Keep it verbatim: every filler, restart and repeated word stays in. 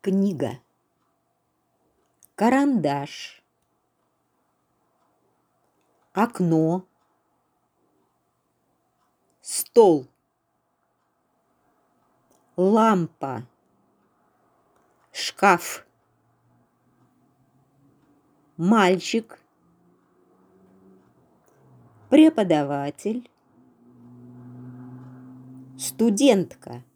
книга, карандаш, окно, стол, лампа, шкаф, мальчик, преподаватель, студентка,